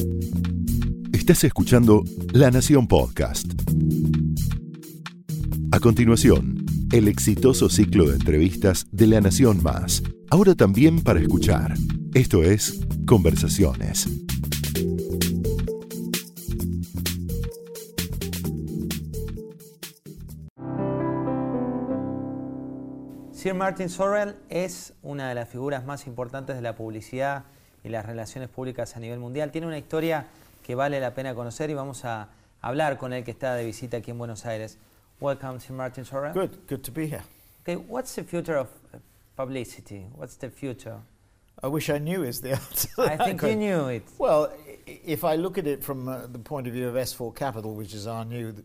Estás escuchando La Nación Podcast. A continuación, el exitoso ciclo de entrevistas de La Nación Más. Ahora también para escuchar. Esto es Conversaciones. Sir Martin Sorrell es una de las figuras más importantes de la publicidad y las relaciones públicas a nivel mundial. Tiene una historia que vale la pena conocer y vamos a hablar con él, que está de visita aquí en Buenos Aires. Welcome, Sir Martin Sorrell. Good to be here. Okay, what's the future of publicity? What's the future? I wish I knew is the answer. I think you knew it. Well, if I look at it from the point of view of S4 Capital, which is our new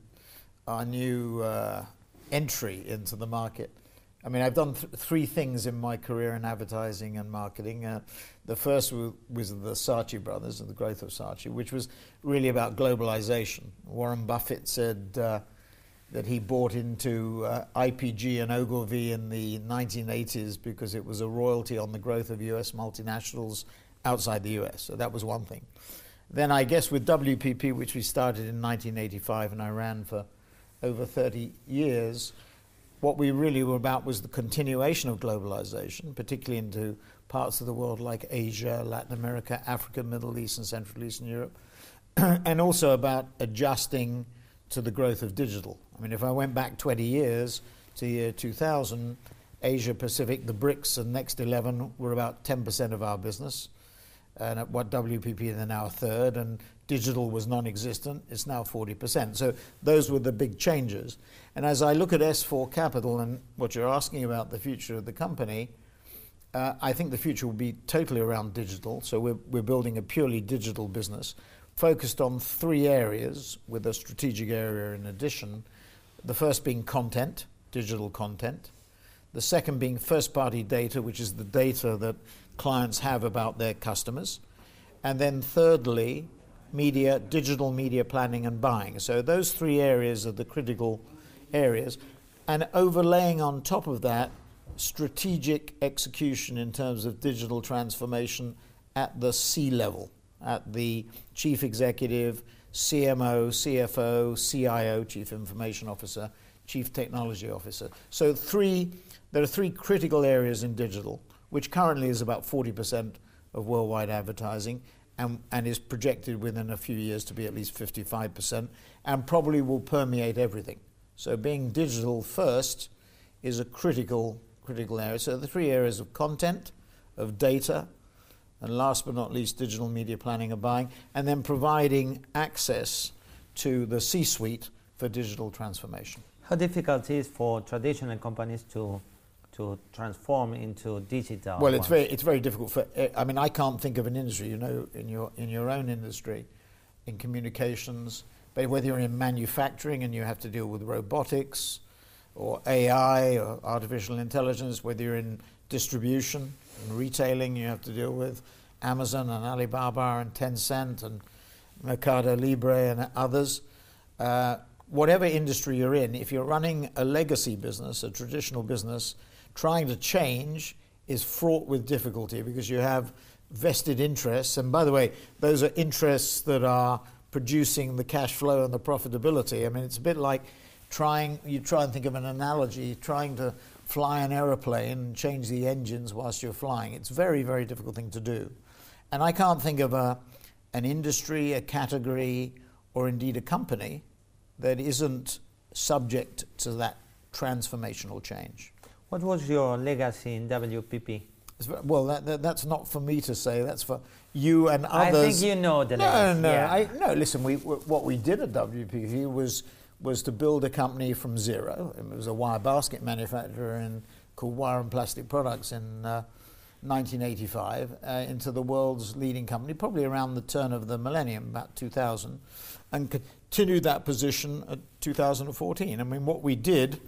entry into the market, I mean, I've done three things in my career in advertising and marketing. The first was the Saatchi brothers and the growth of Saatchi, which was really about globalization. Warren Buffett said that he bought into IPG and Ogilvy in the 1980s because it was a royalty on the growth of US multinationals outside the US. So that was one thing. Then I guess with WPP, which we started in 1985 and I ran for over 30 years, what we really were about was the continuation of globalization, particularly into parts of the world like Asia, Latin America, Africa, Middle East, and Central Eastern Europe, and also about adjusting to the growth of digital. I mean, if I went back 20 years to the year 2000, Asia Pacific, the BRICS and Next 11 were about 10% of our business, and at what WPP, they're now a third, and digital was non-existent, it's now 40%. So those were the big changes. And as I look at S4 Capital and what you're asking about the future of the company, I think the future will be totally around digital. So we're building a purely digital business focused on three areas with a strategic area in addition. The first being content, digital content. The second being first-party data, which is the data that clients have about their customers. And then thirdly, media, digital media planning and buying. So those three areas are the critical areas. And overlaying on top of that, strategic execution in terms of digital transformation at the C-level, at the chief executive, CMO, CFO, CIO, chief information officer, chief technology officer. So there are three critical areas in digital, which currently is about 40% of worldwide advertising, and is projected within a few years to be at least 55%, and probably will permeate everything. So being digital first is a critical area. So the three areas of content, of data, and last but not least, digital media planning and buying, and then providing access to the C-suite for digital transformation. How difficult is for traditional companies to transform into digital? Well, it's very difficult for. I mean, I can't think of an industry, you know, in your own industry, in communications, but whether you're in manufacturing and you have to deal with robotics, or AI, or artificial intelligence, whether you're in distribution and retailing, you have to deal with Amazon and Alibaba and Tencent and Mercado Libre and others. Whatever industry you're in, if you're running a legacy business, a traditional business, trying to change is fraught with difficulty because you have vested interests. And by the way, those are interests that are producing the cash flow and the profitability. I mean, it's a bit like you try and think of an analogy, trying to fly an aeroplane and change the engines whilst you're flying. It's a very, very difficult thing to do. And I can't think of an industry, a category, or indeed a company that isn't subject to that transformational change. What was your legacy in WPP? Well, that's not for me to say. That's for you and others. I think you know the legacy. No. Listen, what we did at WPP was to build a company from zero. It was a wire basket manufacturer called Wire and Plastic Products in 1985 into the world's leading company, probably around the turn of the millennium, about 2000, and continued that position at 2014. I mean, what we did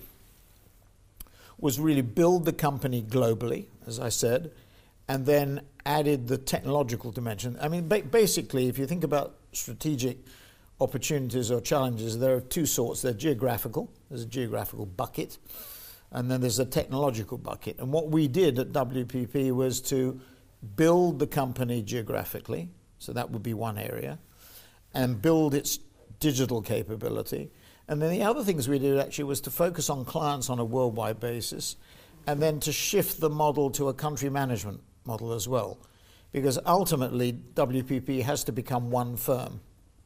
was really build the company globally, as I said, and then added the technological dimension. I mean, basically, if you think about strategic opportunities or challenges, there are two sorts. They're geographical. There's a geographical bucket, and then there's a technological bucket. And what we did at WPP was to build the company geographically, So that would be one area. And build its digital capability. And then the other things we did actually was to focus on clients on a worldwide basis, and then to shift the model to a country management model as well. Because ultimately, WPP has to become one firm.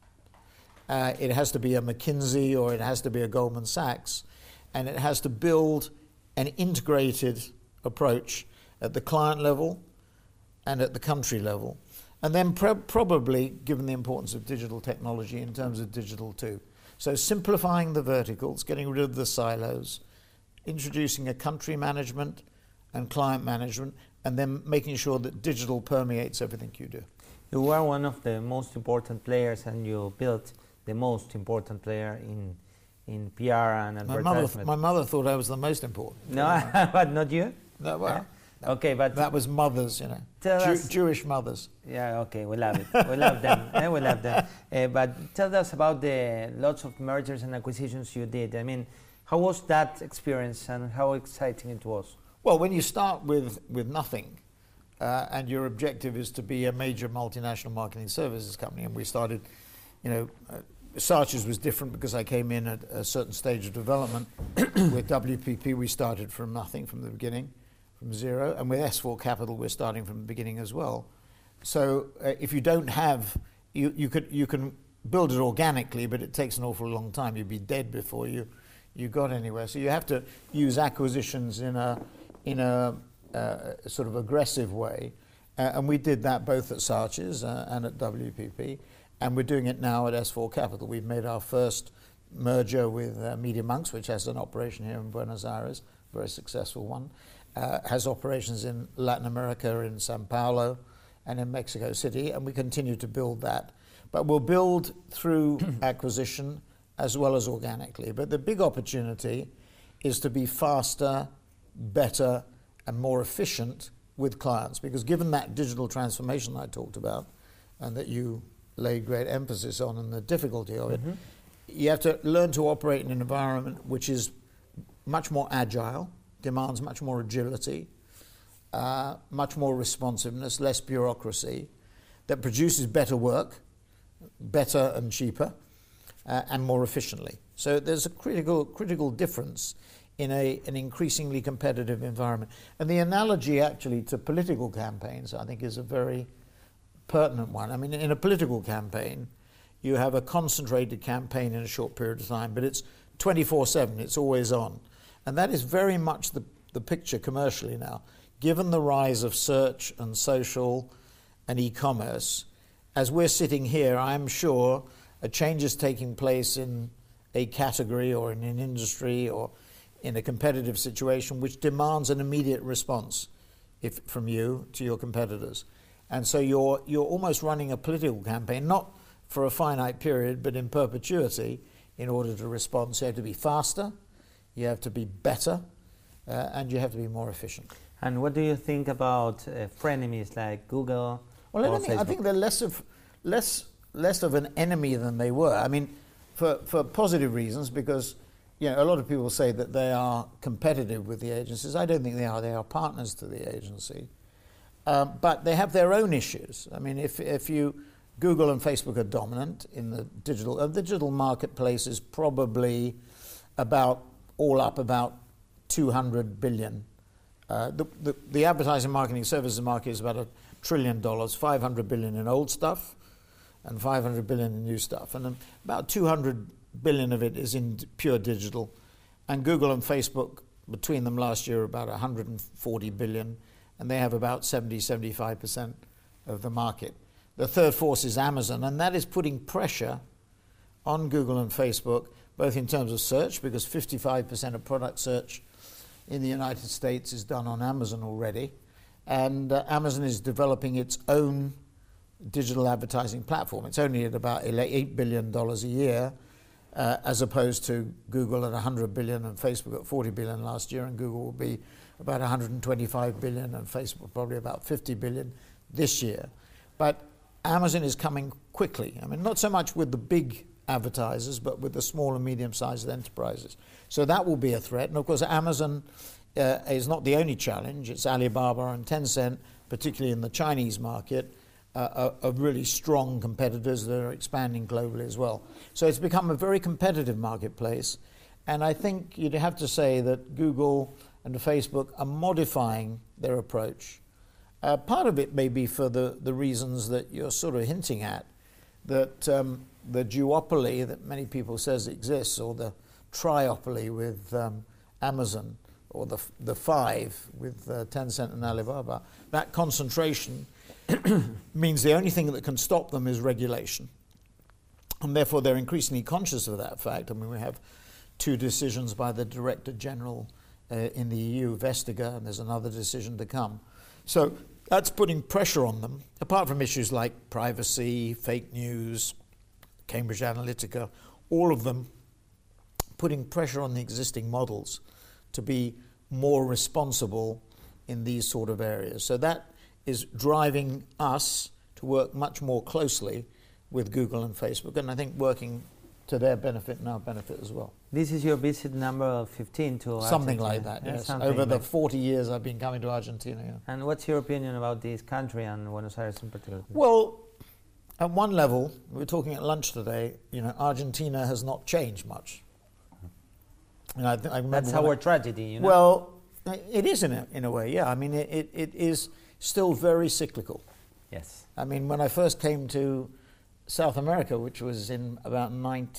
It has to be a McKinsey or it has to be a Goldman Sachs, and it has to build an integrated approach at the client level and at the country level. And then probably, given the importance of digital technology, in terms of digital too. So simplifying the verticals, getting rid of the silos, introducing a country management and client management, and then making sure that digital permeates everything you do. You are one of the most important players, and you built the most important player in PR and advertisement. My mother thought I was the most important. No, but not you? No, well, okay, but that was mothers, you know, Jewish mothers. Yeah, okay, we love it. We love them. We love them. But tell us about the lots of mergers and acquisitions you did. I mean, how was that experience and how exciting it was? Well, when you start with nothing, and your objective is to be a major multinational marketing services company, and we started, you know, Saatchi's was different because I came in at a certain stage of development. With WPP, we started from nothing from the beginning, from zero, and with S4 Capital, we're starting from the beginning as well. So if you don't have, you can build it organically, but it takes an awful long time. You'd be dead before you got anywhere. So you have to use acquisitions in a sort of aggressive way, and we did that both at Saatchi's and at WPP. And we're doing it now at S4 Capital. We've made our first merger with Media.Monks, which has an operation here in Buenos Aires, a very successful one. Has operations in Latin America, in Sao Paulo, and in Mexico City, and we continue to build that. But we'll build through acquisition as well as organically. But the big opportunity is to be faster, better, and more efficient with clients. Because given that digital transformation I talked about, and that you laid great emphasis on and the difficulty of it, you have to learn to operate in an environment which is much more agile, demands much more agility, much more responsiveness, less bureaucracy, that produces better work, better and cheaper, and more efficiently. So there's a critical difference in an increasingly competitive environment. And the analogy actually to political campaigns, I think, is a very pertinent one. I mean, in a political campaign, you have a concentrated campaign in a short period of time, but it's 24/7, it's always on. And that is very much the picture commercially now. Given the rise of search and social and e-commerce, as we're sitting here, I'm sure a change is taking place in a category or in an industry or in a competitive situation which demands an immediate response from you to your competitors. And so you're almost running a political campaign, not for a finite period, but in perpetuity, in order to respond. So you have to be faster, you have to be better, and you have to be more efficient. And what do you think about frenemies like Google? Well, I think they're less of an enemy than they were. I mean, for positive reasons, because you know a lot of people say that they are competitive with the agencies. I don't think they are. They are partners to the agency. But they have their own issues. I mean, if Google and Facebook are dominant in the digital marketplace is probably about 200 billion. The advertising marketing services market is about $1 trillion, 500 billion in old stuff and 500 billion in new stuff. And about 200 billion of it is in pure digital. And Google and Facebook, between them last year, about 140 billion. And they have about 75% of the market. The third force is Amazon, and that is putting pressure on Google and Facebook, both in terms of search, because 55% of product search in the United States is done on Amazon already, and Amazon is developing its own digital advertising platform. It's only at about $8 billion a year, as opposed to Google at 100 billion and Facebook at 40 billion last year, and Google will be about 125 billion and Facebook probably about 50 billion this year. But Amazon is coming quickly. I mean, not so much with the big advertisers, but with the small and medium-sized enterprises. So that will be a threat. And of course, Amazon is not the only challenge. It's Alibaba and Tencent, particularly in the Chinese market, of really strong competitors that are expanding globally as well. So it's become a very competitive marketplace. And I think you'd have to say that Google and Facebook are modifying their approach. Part of it may be for the reasons that you're sort of hinting at, that the duopoly that many people says exists, or the triopoly with Amazon, or the five with Tencent and Alibaba, that concentration means the only thing that can stop them is regulation. And therefore they're increasingly conscious of that fact. I mean, we have 2 decisions by the Director General in the EU, Vestager, and there's another decision to come. So that's putting pressure on them, apart from issues like privacy, fake news, Cambridge Analytica, all of them putting pressure on the existing models to be more responsible in these sort of areas. So that is driving us to work much more closely with Google and Facebook, and I think working to their benefit and our benefit as well. This is your visit number 15 to Argentina. Something like that, yes. Over the 40 years I've been coming to Argentina. Yeah. And what's your opinion about this country and Buenos Aires in particular? Well, at one level, we were talking at lunch today, Argentina has not changed much. And I remember that's our tragedy, Well, it is in a way, yeah. I mean, it is still very cyclical. Yes. I mean, when I first came to South America, which was in about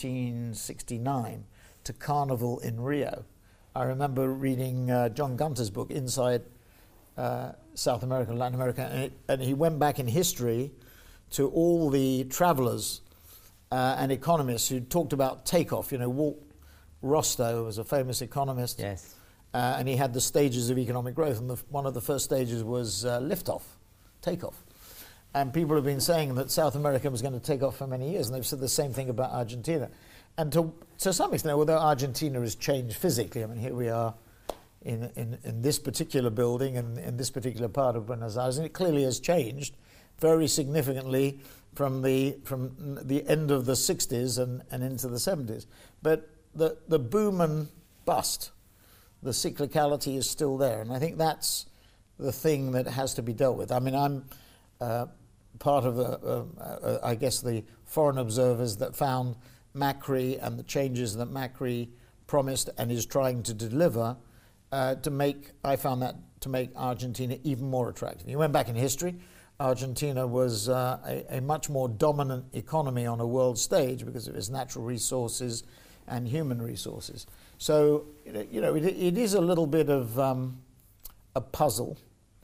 1969, to Carnival in Rio, I remember reading John Gunter's book, Inside South America and Latin America, and he went back in history to all the travelers and economists who talked about takeoff. Walt Rostow was a famous economist. Yes. And he had the stages of economic growth, and one of the first stages was liftoff, takeoff. And people have been saying that South America was going to take off for many years, and they've said the same thing about Argentina. And to some extent, although Argentina has changed physically, I mean, here we are in this particular building and in this particular part of Buenos Aires, and it clearly has changed very significantly from the end of the 60s and into the 70s. But the boom and bust, the cyclicality is still there, and I think that's the thing that has to be dealt with. I mean, I'm part of I guess the foreign observers that found Macri and the changes that Macri promised and is trying to deliver to make Argentina even more attractive. You went back in history, Argentina was a much more dominant economy on a world stage because of its natural resources and human resources. So, it is a little bit of a puzzle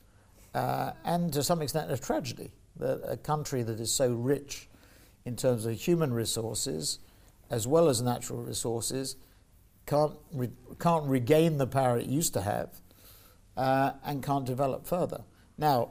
and to some extent a tragedy that a country that is so rich in terms of human resources as well as natural resources can't regain the power it used to have and can't develop further. Now,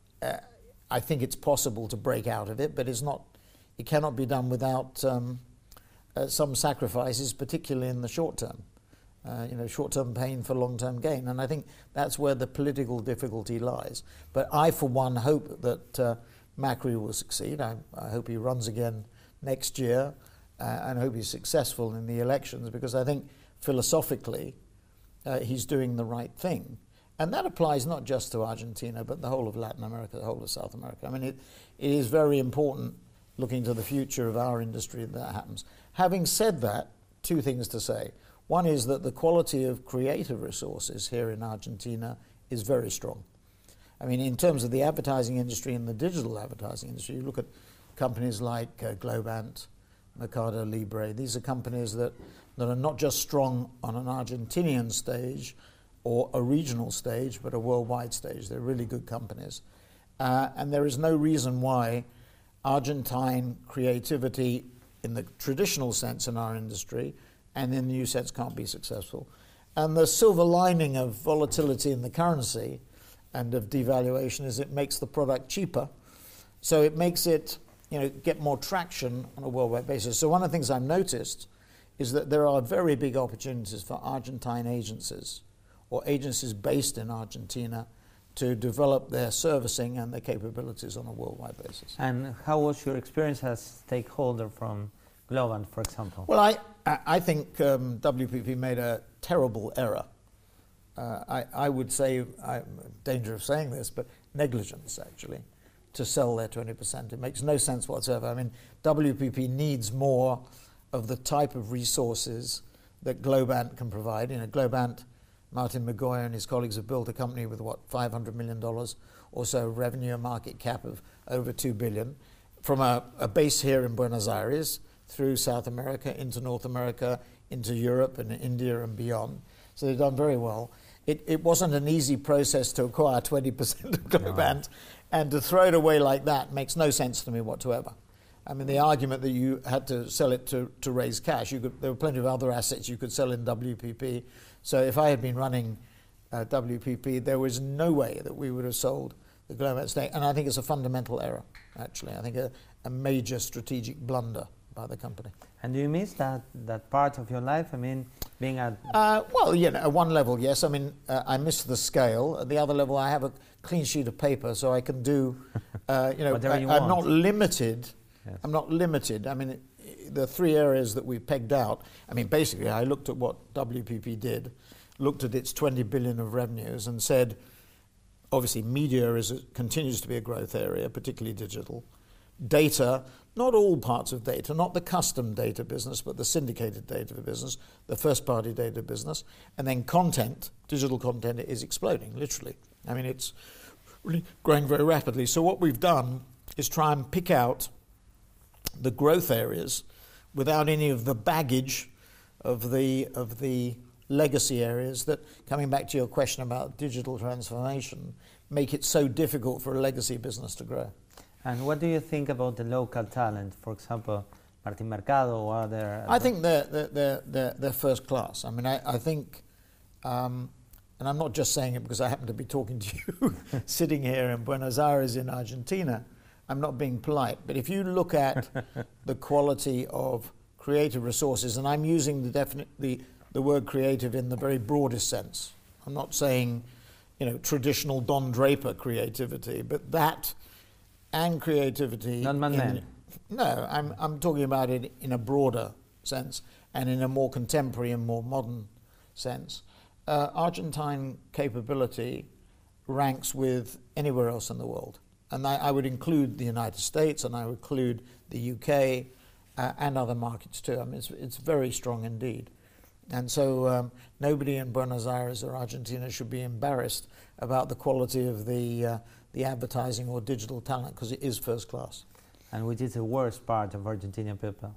I think it's possible to break out of it, but it cannot be done without some sacrifices, particularly in the short term. Short-term pain for long-term gain. And I think that's where the political difficulty lies. But I, for one, hope that Macri will succeed. I hope he runs again next year and I hope he's successful in the elections, because I think philosophically he's doing the right thing. And that applies not just to Argentina, but the whole of Latin America, the whole of South America. I mean, it is very important looking to the future of our industry that happens. Having said that, 2 things to say. One is that the quality of creative resources here in Argentina is very strong. I mean, in terms of the advertising industry and the digital advertising industry, you look at companies like Globant, Mercado Libre. These are companies that are not just strong on an Argentinian stage or a regional stage, but a worldwide stage. They're really good companies. And there is no reason why Argentine creativity in the traditional sense in our industry and in the new sense can't be successful. And the silver lining of volatility in the currency and of devaluation is it makes the product cheaper. So it makes it, get more traction on a worldwide basis. So one of the things I've noticed is that there are very big opportunities for Argentine agencies or agencies based in Argentina to develop their servicing and their capabilities on a worldwide basis. And how was your experience as stakeholder from Globant, for example? Well, I think WPP made a terrible error. I would say, I'm in danger of saying this, but negligence, actually. to sell their 20%. It makes no sense whatsoever. I mean, WPP needs more of the type of resources that Globant can provide. You know, Globant, Martin McGoy and his colleagues have built a company with, $500 million or so revenue, a market cap of over $2 billion, from a base here in Buenos Aires, through South America, into North America, into Europe and India and beyond. So they've done very well. It wasn't an easy process to acquire 20% of Globant, and to throw it away like that makes no sense to me whatsoever. I mean, the argument that you had to sell it to raise cash, there were plenty of other assets you could sell in WPP. So if I had been running WPP, there was no way that we would have sold the Globant stake. And I think it's a fundamental error, actually. I think a major strategic blunder by the company. And do you miss that part of your life? I mean, being at... well, you know, at one level, yes. I mean, I miss the scale. At the other level, I have a clean sheet of paper, so I can do, you know, I'm not limited. Yes. I'm not limited. I mean, the three areas that we pegged out, I mean, basically, I looked at what WPP did, looked at its 20 billion of revenues and said, obviously, media continues to be a growth area, particularly digital. Data, not all parts of data, not the custom data business, but the syndicated data business, the first-party data business, and then content, digital content is exploding, literally. I mean, it's really growing very rapidly. So what we've done is try and pick out the growth areas without any of the baggage of the legacy areas that, coming back to your question about digital transformation, make it so difficult for a legacy business to grow. And what do you think about the local talent? For example, Martin Mercado or other... I think they're first class. I mean, I think, and I'm not just saying it because I happen to be talking to you sitting here in Buenos Aires in Argentina. I'm not being polite, but if you look at the quality of creative resources, and I'm using the word creative in the very broadest sense. I'm not saying, you know, traditional Don Draper creativity, but that and creativity. Not man. No, I'm talking about it in a broader sense and in a more contemporary and more modern sense. Argentine capability ranks with anywhere else in the world. And I would include the United States, and I would include the UK and other markets too. I mean, it's very strong indeed. And so nobody in Buenos Aires or Argentina should be embarrassed about the quality of the advertising or digital talent, because it is first class. And which is the worst part of Argentinian people?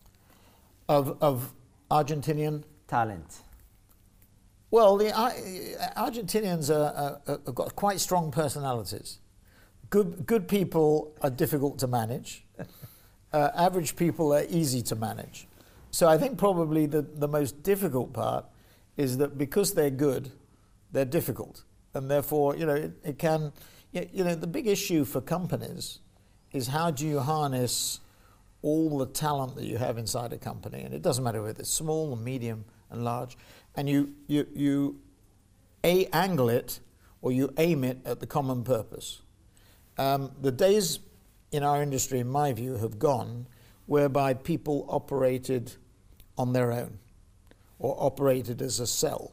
Of Argentinian? Talent. Well, the Argentinians have got quite strong personalities. Good people are difficult to manage. Average people are easy to manage. So I think probably the most difficult part is that because they're good, they're difficult. And therefore, you know, it can, you know, the big issue for companies is how do you harness all the talent that you have inside a company, and it doesn't matter whether it's small or medium and large, and you angle it or you aim it at the common purpose. The days in our industry, in my view, have gone whereby people operated on their own or operated as a cell.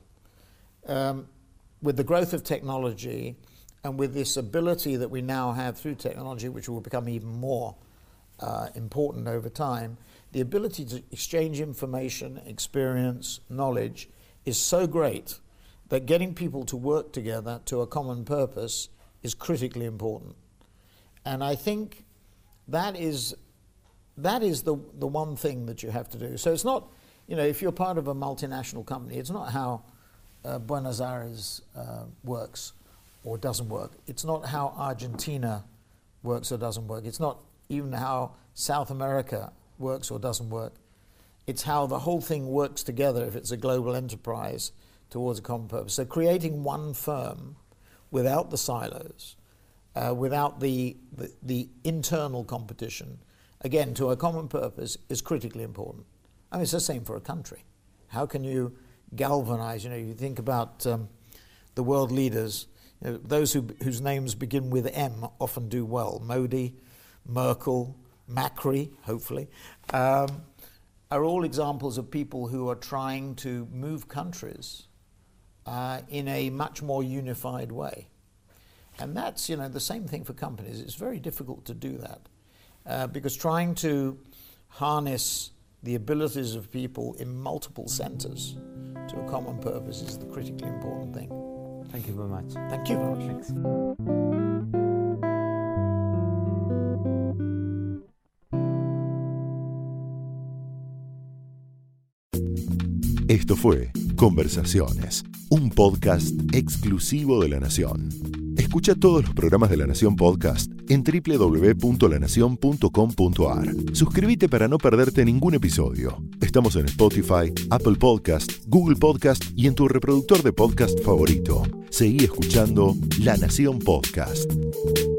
With the growth of technology and with this ability that we now have through technology, which will become even more important over time, the ability to exchange information, experience, knowledge is so great that getting people to work together to a common purpose is critically important. And I think that is the one thing that you have to do. So it's not, you know, if you're part of a multinational company, it's not how Buenos Aires works or doesn't work. It's not how Argentina works or doesn't work. It's not even how South America works or doesn't work. It's how the whole thing works together if it's a global enterprise towards a common purpose. So creating one firm without the silos, without the internal competition, again, to a common purpose is critically important. I mean, it's the same for a country. How can you galvanize, you know, you think about the world leaders, you know, those whose names begin with M often do well. Modi, Merkel, Macri, hopefully, are all examples of people who are trying to move countries in a much more unified way. And that's, the same thing for companies. It's very difficult to do that because trying to harness the abilities of people in multiple centers to a common purpose is the critically important thing. Thank you very much. Thank you very much. Thanks. Esto fue Conversaciones, un podcast exclusivo de La Nación. Escucha todos los programas de La Nación Podcast en www.lanacion.com.ar. Suscríbete para no perderte ningún episodio. Estamos en Spotify, Apple Podcast, Google Podcast y en tu reproductor de podcast favorito. Seguí escuchando La Nación Podcast.